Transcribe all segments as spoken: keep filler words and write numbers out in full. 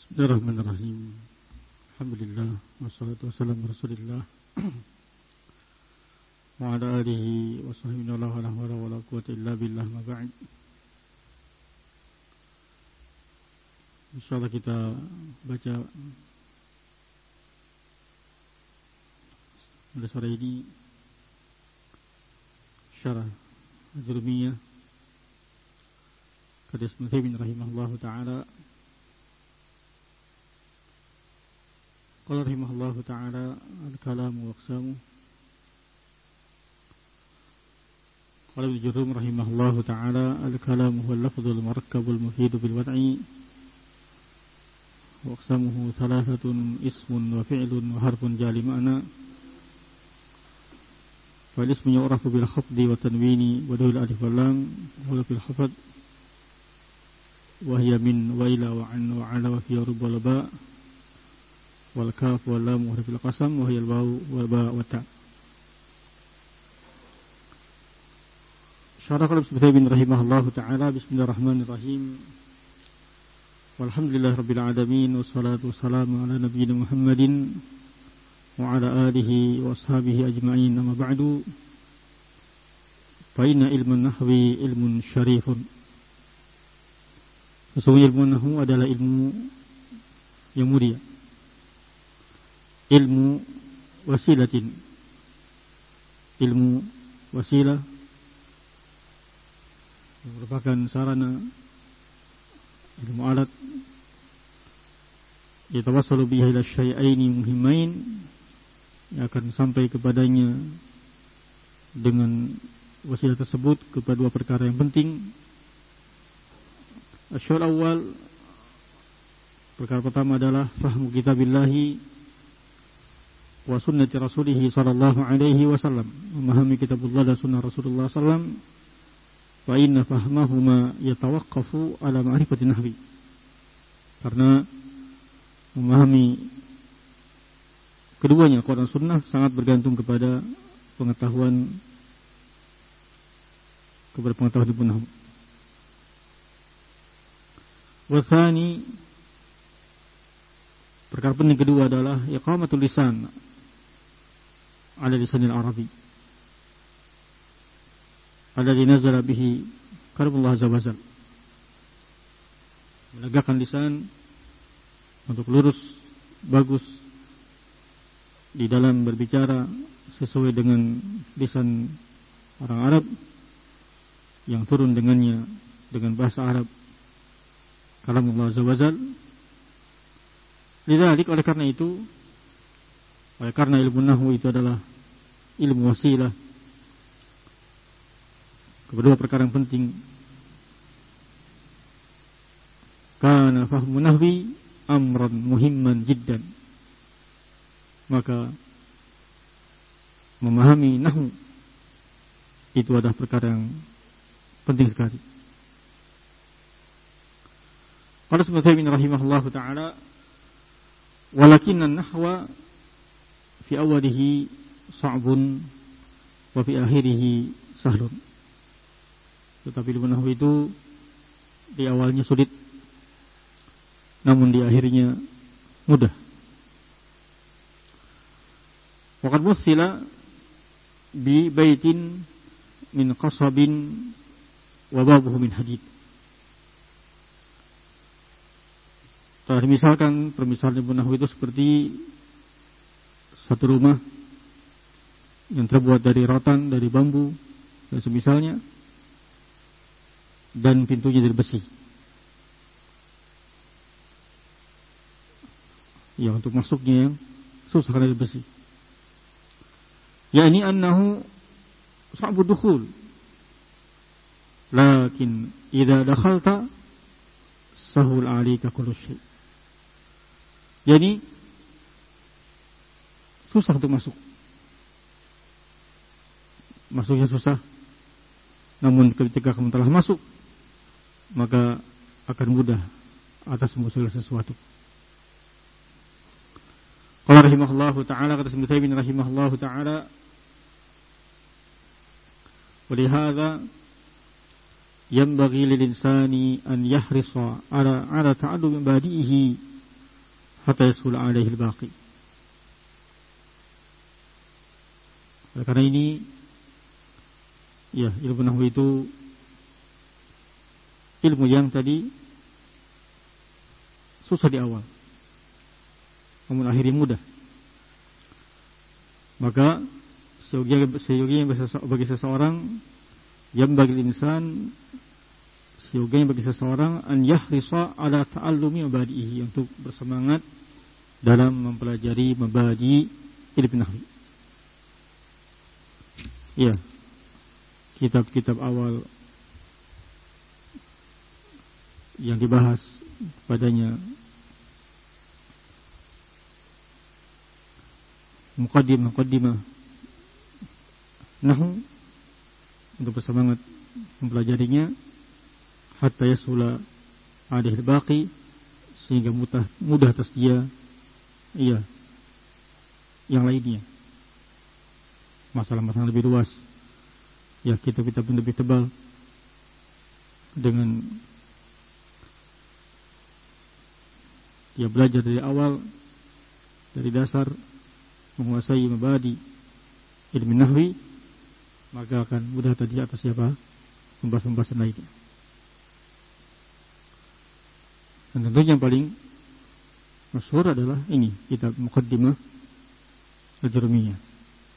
Bismillahirrahmanirrahim. Alhamdulillah wassalatu wassalamu ala Rasulillah wa ala alihi wa sahbihi wa la hawla wa la quwwata illa billah ma ba'd. Insyaallah kita baca pada sore ini syarah Al-Jurmiyah kata Ibnu Taimiyah rahimahullahu taala. Qala rahimahullahu ta'ala al-kalamu waqsamu. Qala Ibnu Jurrum rahimahullahu ta'ala al-kalamu huwa al-lafdhu al-murakkabu al-mufidu bil-wad'i waqsamuhu thalathatun ismun wa fi'lun wa harfun jali ma'na fal-ismu yu'rafu bil-khafdi wa tanwini wa dawil alif wal lam wa fil khafd wa hiya min wa ila wa an wa ala wa fi rub wal ba' wal kaf wal lam wa fil qasam wa hiya al waw wal ba wa ta. Syarah Ibnu Taimiyah rahimahullahu taala. Bismillahirrahmanirrahim. Walhamdulillahirabbil alamin wassalatu wassalamu ala nabiyyina Muhammadin wa ala alihi wa ashabihi ajma'in. Amma ba'du. Fa inna ilmun nahwi ilmun syarifun. Sesungguhnya ilmu nahwu adalah ilmu yang mulia. Ilmu wasilatin, ilmu wasilah yang merupakan sarana, ilmu alat yatawassalu bihi ila syai'aini muhimmain, yang akan sampai kepadanya dengan wasilah tersebut kepada dua perkara yang penting. Asyul awal, perkara pertama adalah fahmu kitabillahi wa sunnati rasulih sallallahu alaihi wasallam, memahami kitabullah dan sunnah Rasulullah sallallahu alaihi wasallam. Wa inna fahmahuma yatawaqqafu ala ma'rifati nahwi, karena memahami keduanya Quran sunnah sangat bergantung kepada pengetahuan kepada pengetahuan ilmu nahwu. Wa tsani, perkara penting kedua adalah iqamatul lisan ala lisanil arabi alladhi nazala bihi kalamullah azza wa jalla, menegakkan lisan untuk lurus bagus di dalam berbicara sesuai dengan lisan orang Arab yang turun dengannya dengan bahasa Arab kalamullah azza wa jalla. Lidzalik, oleh karena itu, oleh karena ilmu nahwu itu adalah ilmu wasilah kedua perkara yang penting. Kana fahmu nahwi amran muhimman jiddan, maka memahami nahwu itu adalah perkara yang penting sekali. Qala Ibnu Taimiyah rahimahullahu taala, walakinna nahwa fi awalihi sa'bun wa fi akhirihi sahlun. Tetapi ilmu nahwu itu di awalnya sulit, namun di akhirnya mudah. Waqad muthila bi baitin min qasabin wa babuhu min hadid. Telah misalkan permisalan ilmu nahwu itu seperti satu rumah yang terbuat dari rotan, dari bambu dan semisalnya, dan pintunya dari besi. Ya, untuk masuknya yang susah karena dari besi. Ya, ini annahu sa'bu dukhul, lakin idza dakhalta sahul 'alaika kullu syai'. Jadi susah untuk masuk, masuknya susah, namun ketika kamu telah masuk maka akan mudah atas segala sesuatu. Qala rahimahullahu ta'ala, kata Ibnu Taimiyah rahimahullahu ta'ala, wa lihadza yanbaghi lil insani an yahrisa ala ala ta'allum badihi hatta yasul alaihi al-baqi. Karena ini ya, ilmu nahwu itu ilmu yang tadi susah di awal, namun akhirnya mudah. Maka seyogianya bagi seseorang, yang bagi insan, seyogianya bagi seseorang an yahrisa ala ta'allumi mabadihi, untuk bersemangat dalam mempelajari mabadi ilmu nahwu. Ya, kitab-kitab awal yang dibahas padanya muqaddimah-muqaddimah nahwu, untuk bersemangat mempelajarinya hatta yasula alaihi al-baqi, sehingga mudah mudah atas dia iya yang lainnya, masalah-masalah lebih luas. Ya, kitab-kitab yang lebih tebal dengan dia belajar dari awal, dari dasar, menguasai mabadi ilmu nahwi, maka akan mudah tadi atas siapa pembahasan-pembahasan lainnya. Dan tentunya yang paling masyhur adalah ini, kitab Muqaddimah Al-Jurmiyah.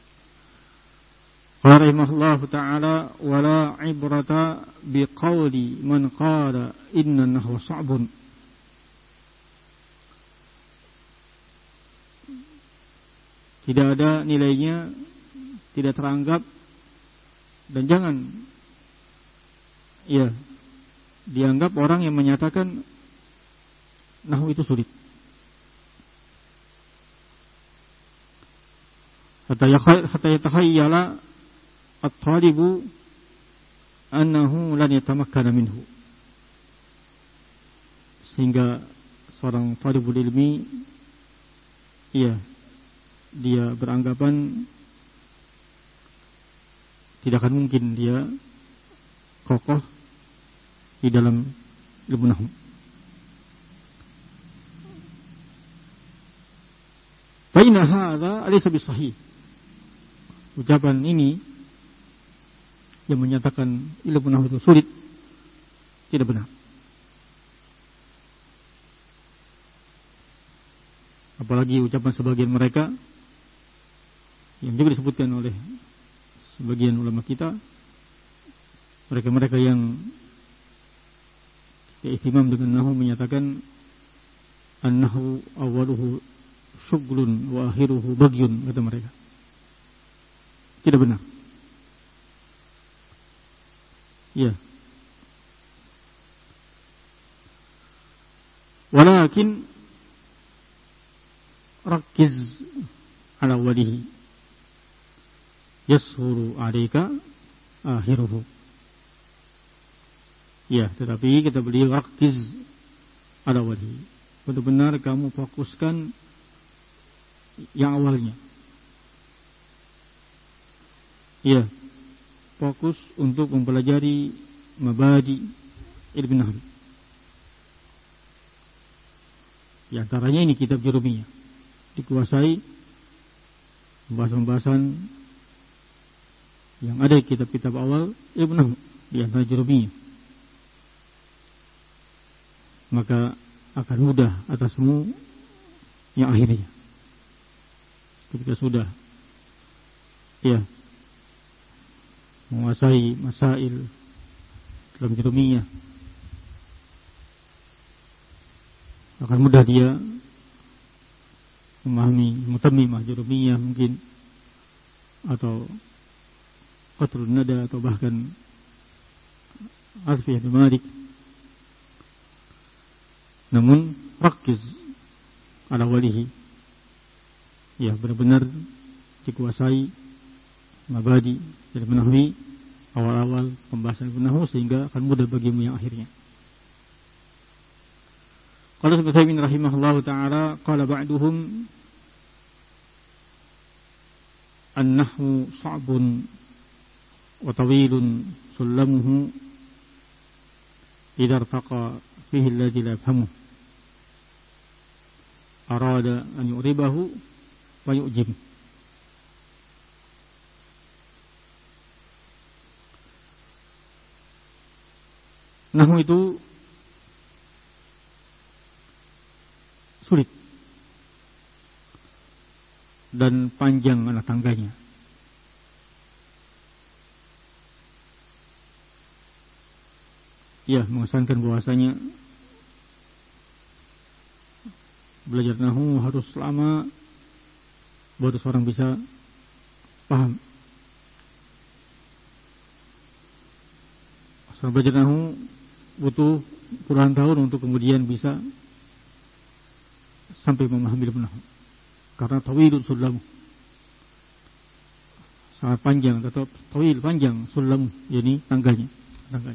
Qala rahimahullahu ta'ala, wala ibrata biqauli man qala inna nahwa sa'bun. Tidak ada nilainya, tidak teranggap, dan jangan ya dianggap orang yang menyatakan nahwu itu sulit. Hatta yatakhayyala at-talibu annahu lan yatamakkana minhu, sehingga seorang talibul ilmi ya dia beranggapan tidak akan mungkin dia kokoh di dalam ilmu nahwu. Fa inna hadza alaysa bisahih. Ucapan ini yang menyatakan ilmu nahwu itu sulit tidak benar. Apalagi ucapan sebagian mereka yang juga disebutkan oleh sebagian ulama kita, mereka-mereka yang ihtimam dengan nahwu menyatakan an-nahwu awwaluhu syughlun wa akhiruhu bagyun, kata mereka. Tidak benar. Ya. Walakin rakiz ala walihi yashuru alaika akhiruhu. Ya, tetapi kita beli rakiz ala walihi, benar-benar kamu fokuskan yang awalnya. Ya, fokus untuk mempelajari mabadi ilmu nahwu. Di antaranya ini kitab Jurmiyah, dikuasai pembahasan-pembahasan yang ada di kitab-kitab awal ilmu nahwu, di antara Jurmiyah. Maka akan mudah atasmu yang akhirnya, ketika sudah ya menguasai masail dalam Jurmiyah, akan mudah dia memahami Mutammimah Jurmiyah mungkin, atau Qatrun Nada, atau bahkan Alfiyah bin Malik. Namun rakiz ala walihi, ya benar-benar dikuasai mabadi ilmu nahwi awal-awal pembahasan ilmu nahwu, sehingga akan mudah bagimu yang akhirnya. Qala Ibnu rahimahullahu taala, qala ba'duhum an-nahwu sa'bun wa tawilun sullamuhu idza irtaqa fihi alladhi la yafhamuh. arada an yu'ribahu wa yu'jim. Nahwu itu sulit dan panjang anak tangganya. Ya, mengesankan bahwasanya belajar nahwu harus lama baru seorang bisa paham. Seorang belajar nahwu butuh puluhan tahun untuk kemudian bisa sampai memahami ilmu nahwu. Karena tawilun sullamu, sangat panjang, atau tawil panjang, sullamu, yakni tangganya, tangganya.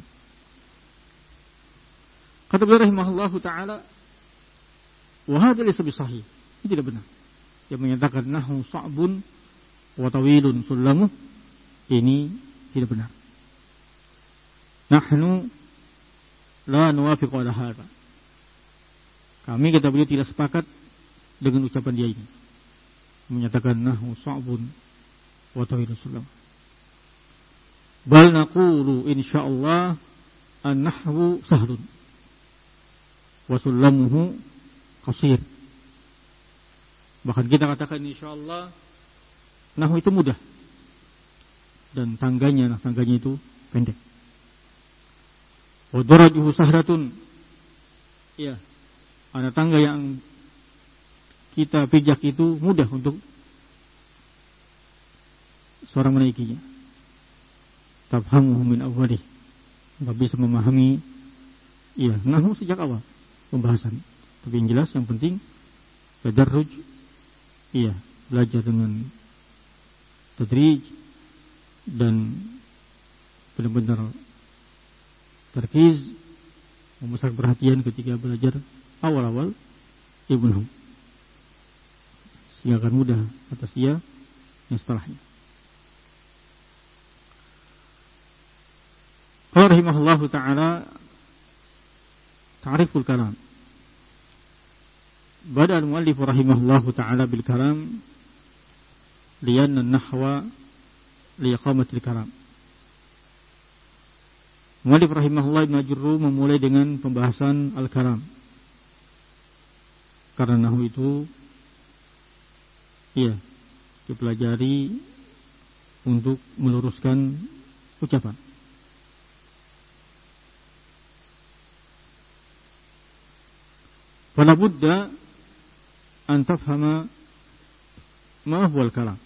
Kata beliau rahimahullahu taala, wa hadza laysa bisahih. Ini tidak benar. Yang menyatakan nahwu sa'bun wa tawilun sullamu, ini tidak benar. Nahnu la nuwafiqu ala hadza. Kami, kata beliau, tidak sepakat dengan ucapan dia ini, menyatakan nahwu sa'bun wa tawilun sullamu. Bal naqulu insyaallah an-nahwu sahlun wa sullamuhu qasir. Bahkan kita katakan insyaallah nahwu itu mudah dan tangganya, nah tangganya itu pendek. Wa darajuhu sahratun. Ya, ada tangga yang kita pijak itu mudah untuk seorang menaikinya. Tafhamuhu min awwalih. Enggak bisa memahami ya nahwu sejak awal pembahasan. Tapi yang jelas, yang penting tadarruj, iya, belajar dengan tadrij dan benar-benar tarkiz, memusat perhatian ketika belajar awal-awal ilmu nahwu, sehingga akan mudah atas dia yang setelahnya. Qala rahimahullahu ta'ala ta'riful kalam. Bada al-muallif rahimahullahu ta'ala bil kalam lianna an-nahwa liiqamatil kalam. Muallif rahimahullah Ibnu Ajurru memulai dengan pembahasan al-kalam. Karena nahwu itu iya dipelajari untuk meluruskan ucapan. Fala budda an tafhama ma huwa al-kalam.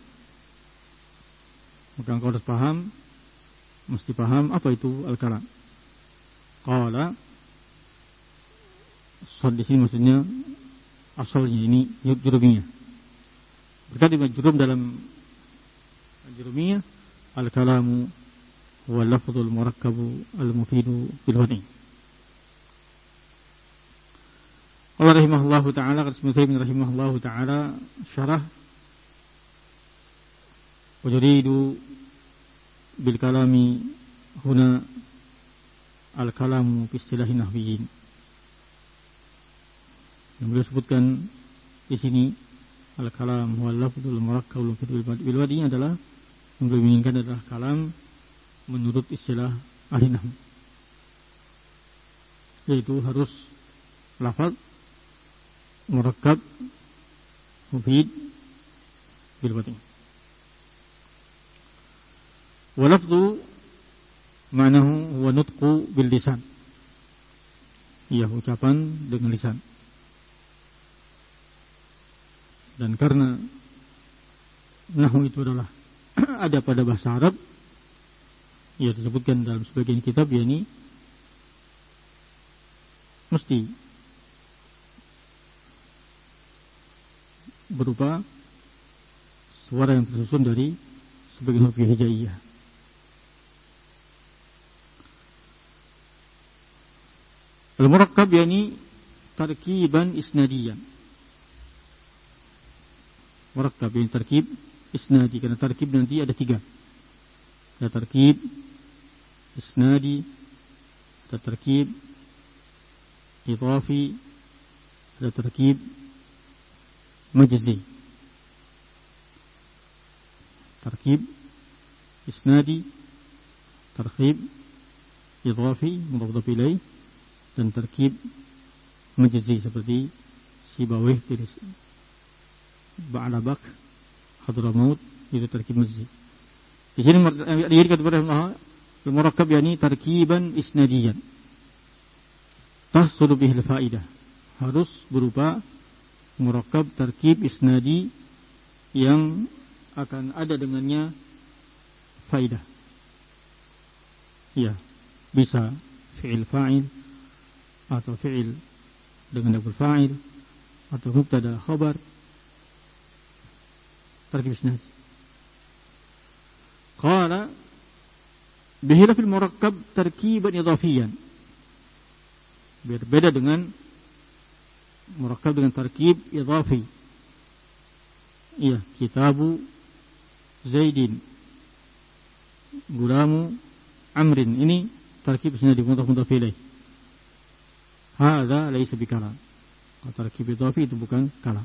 Maka engkau harus paham, mesti paham apa itu al-kalam. Qala, sad di sini maksudnya asalnya ini jurumiyah. Berkata Ibnu Jurum dalam jurumiyah, al-kalamu huwa lafzul murakkabu al-mufidu bil wadi'. Allah rahimahullahu ta'ala, kata Ibnu rahimahullahu ta'ala, syarah wa yuridu bil kalami huna al-kalamu fi istilahi nahwiyyin. Yang beliau sebutkan di sini al-kalam huwa lafzul murakkab bil wadi' adalah, yang beliau inginkan adalah kalam menurut istilah ahli nahwu, yaitu harus lafaz murakkab mufid bil wadi'. Wa lafzu ma'nahu huwa nutqu bil lisan. Iya, ucapan dengan lisan. Dan karena nahwu itu adalah ada pada bahasa Arab, ya disebutkan dalam sebagian kitab, yakni mesti berupa suara yang tersusun dari sebagian huruf hijaiyah. Al-murakkab yakni tarkiban isnadiyan. Murakkab yakni tarkib isnadi, karena tarkib nanti ada tiga. Ada tarkib isnadi, ada tarkib idhafi, ada tarkib majzi. Tarkib isnadi, tarkib idhafi mudhaf ilaih, dan tarkib majzi seperti Sibawih dari Ba'labak Hadramaut, itu tarkib majzi. Di sini dia kata Allah al-murakkab yani tarkiban isnadiyan tahsulu bihil faidah, harus berupa murakkab tarkib isnadi yang akan ada dengannya faidah. Ya, bisa fi'il fa'il atau fi'il dengan na'ibul fa'il atau mubtada khabar, tarkib isnadi. Qala bihila fil murakkab tarkiban idhafiyan, berbeda dengan murakkab dengan tarkib idhafi. Iya, kitabu Zaidin, gulamu Amrin, ini tarkib isnadi mudhaf mudhaf ilaih. Hadza laysa bikalam. Tarkib idhafi itu bukan kalam.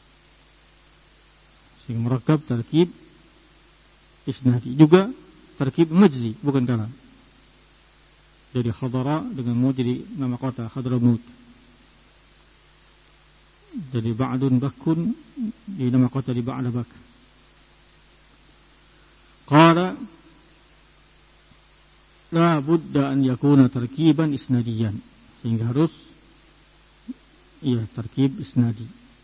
Sehingga murakkab tarkib isnadi juga tarkib majzi, bukan kalam. Jadi khadara dengan mu jadi nama kota Hadramut. Jadi ba'dun bakun di nama kota di Ba'labak. Qala la budda an yakuna tarkiban isnadiyan, sehingga harus iya tarkib isnadi.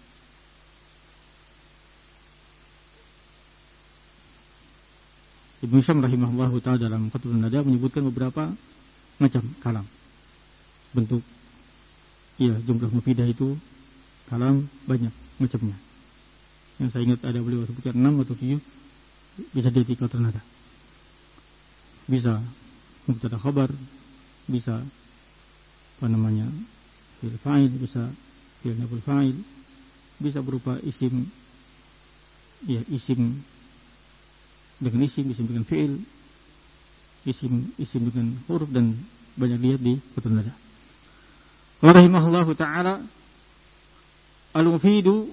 Ibnu Syam rahimahullahu ta'ala dalam Fathul Nada menyebutkan beberapa macam kalam, bentuk iya jumlah mufidah itu kalam banyak macamnya. Yang saya ingat ada beliau sebutkan enam atau tujuh, bisa di Fathul Nada. Bisa mubtada khabar, bisa apa namanya fi'il fa'il, bisa fi'il na'ibul fa'il, bisa berupa isim ya isim dengan isim, isim dengan fi'il, isim isim dengan huruf, dan banyak lihat di Fathul Nada. Qala rahimahullahu ta'ala al-mufidu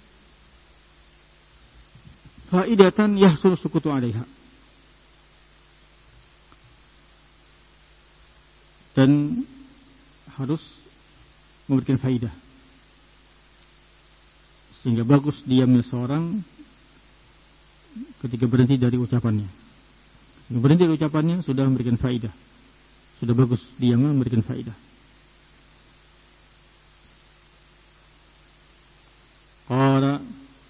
faidatan yahsul sukutu 'alaiha, dan harus memberikan faidah sehingga bagus diamnya seorang ketika berhenti dari ucapannya. Berhenti dari ucapannya sudah memberikan faidah, sudah bagus diamnya memberikan faidah. Qala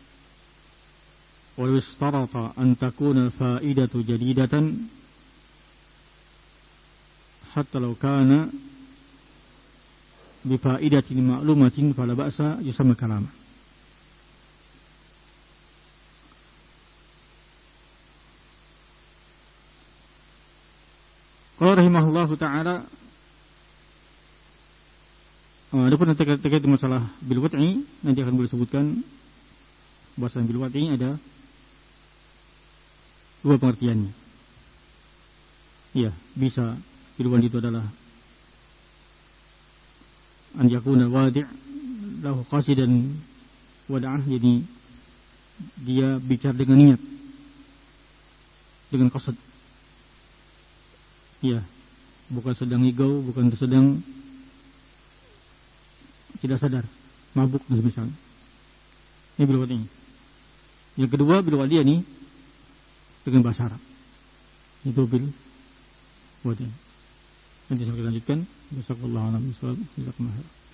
wa yustarata an takuna faidatu jadidatan hatta law kana bi faidatin ma'lumatin fala ba'sa yusamma kalama. Qala rahimahullahu ta'ala, adapun terkait, terkait masalah bil wat'i, nanti akan boleh sebutkan bahasa bil wat'i ada dua pengertiannya. Iya, bisa bil wat'i itu adalah an yakuna wadi' lahu qasidan wada'ah, jadi dia bicara dengan niat, dengan qasad. Ya, bukan sedang ngigau, bukan sedang tidak sadar, mabuk misalnya. Ini bil wadi'. Yang kedua bil wadi' ini dengan bahasa Arab. Itu bil wadi'. Nanti saya akan lanjutkan. Jazakallahu khairan.